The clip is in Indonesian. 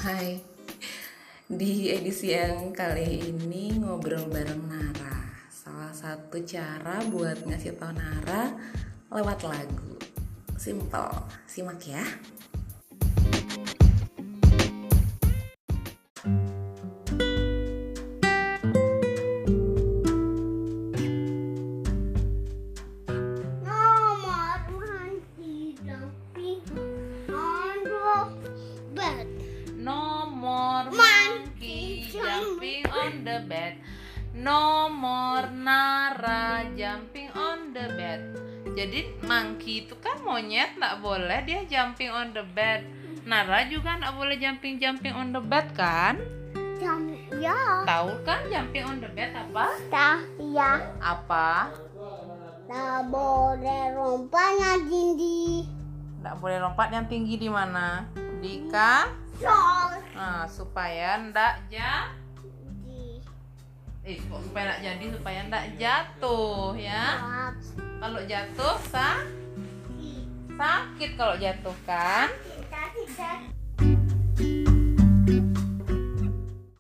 Hai, di edisi yang kali ini ngobrol bareng Nara. Salah satu cara buat ngasih tau Nara lewat lagu. Simple, simak ya. Nomor monkey jumping on the bed. Nomor Nara jumping on the bed. Jadi monkey itu kan monyet, nggak boleh dia jumping on the bed. Nara juga nggak boleh jumping on the bed kan? Ya. Tahu kan jumping on the bed apa? Ya. Apa? Tak boleh lompat yang tinggi. Nggak boleh lompat yang tinggi di mana? Di Nah, supaya ndak supaya ndak jadi, supaya ndak jatuh ya. Kalau jatuh sakit kalau jatuh kan.